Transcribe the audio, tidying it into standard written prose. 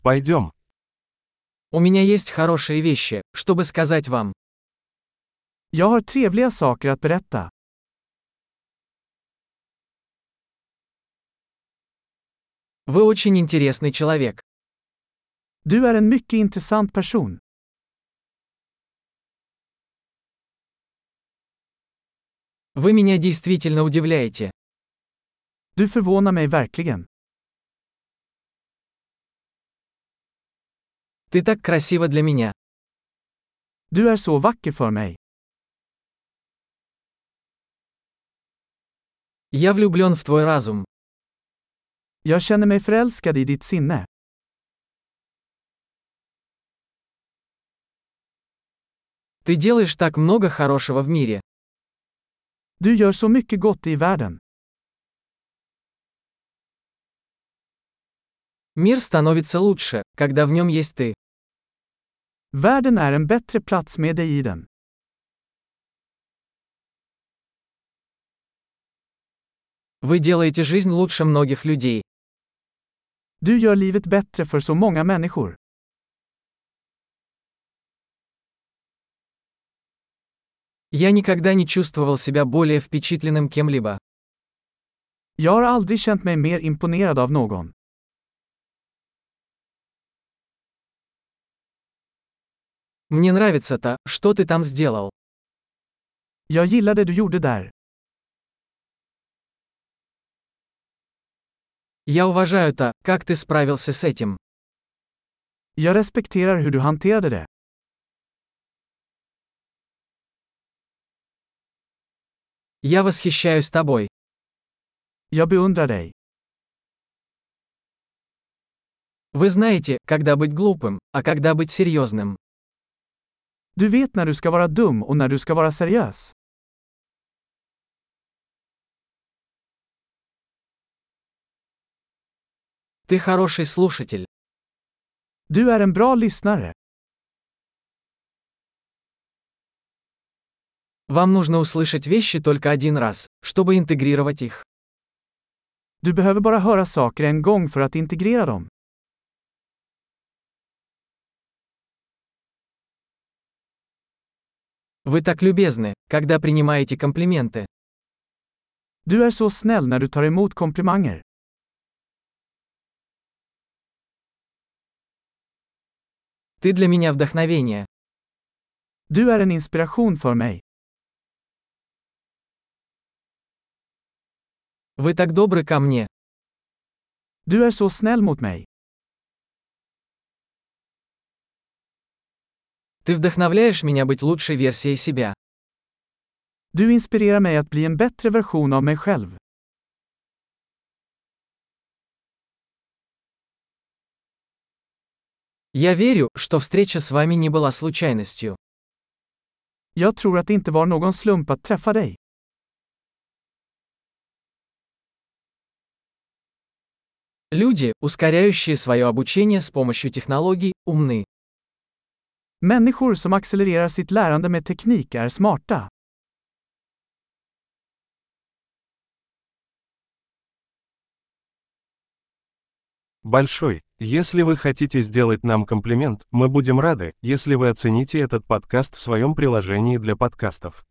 Пойдем. У меня есть хорошие вещи, чтобы сказать вам. Jag har trevliga saker att berätta. Вы очень интересный человек. Du är en mycket intressant person. Вы меня действительно удивляете. Du förvånar mig verkligen. Ты так красива для меня. Du är så vacker för mig. Я влюблен в твой разум. Jag känner mig förälskad i ditt sinne. Ты делаешь так много хорошего в мире. Du gör så mycket gott i världen. Мир становится лучше, когда в нем есть ты. Världen är en bättre plats med dig i den. Вы делаете жизнь лучше многих людей. Du gör livet bättre för så många människor. Я никогда не чувствовал себя более впечатленным кем-либо. Jag har aldrig känt mig mer imponerad av någon. Мне нравится то, что ты там сделал. Jag gillar det du gjorde där. Я уважаю то, как ты справился с этим. Jag respekterar hur du hanterade det. Я восхищаюсь тобой. Jag beundrar dig. Вы знаете, когда быть глупым, а когда быть серьезным. Du vet när du ska vara dum och när du ska vara seriös. Ты хороший слушатель. Du är en bra lyssnare. Вам нужно услышать вещи только один раз, чтобы интегрировать их. Du behöver bara höra saker en gång för att integrera dem. Вы так любезны, когда принимаете комплименты. Du är så snäll när du tar emot komplimanger. Ты для меня вдохновение. Du är en inspiration för mig. Вы так добры ко мне. Du är så snäll mot mig. Ты вдохновляешь меня быть лучшей версией себя. Du inspirerar mig att bli en bättre version av mig själv. Я верю, что встреча с вами не была случайностью. Jag tror att det inte var någon slump att träffa dig. Люди, ускоряющие свое обучение с помощью технологий, умны. Människor som accelererar sitt lärande med teknik är smarta. Большой. Если вы хотите сделать нам комплимент, мы будем рады, если вы оцените этот подкаст в своем приложении для подкастов.